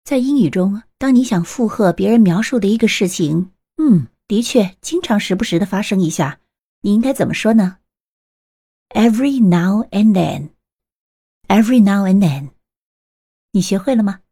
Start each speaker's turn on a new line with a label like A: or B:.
A: 在英语中，当你想附和别人描述的一个事情，的确经常时不时的发生一下，你应该怎么说呢？ Every now and then. Every now and then. 你学会了吗？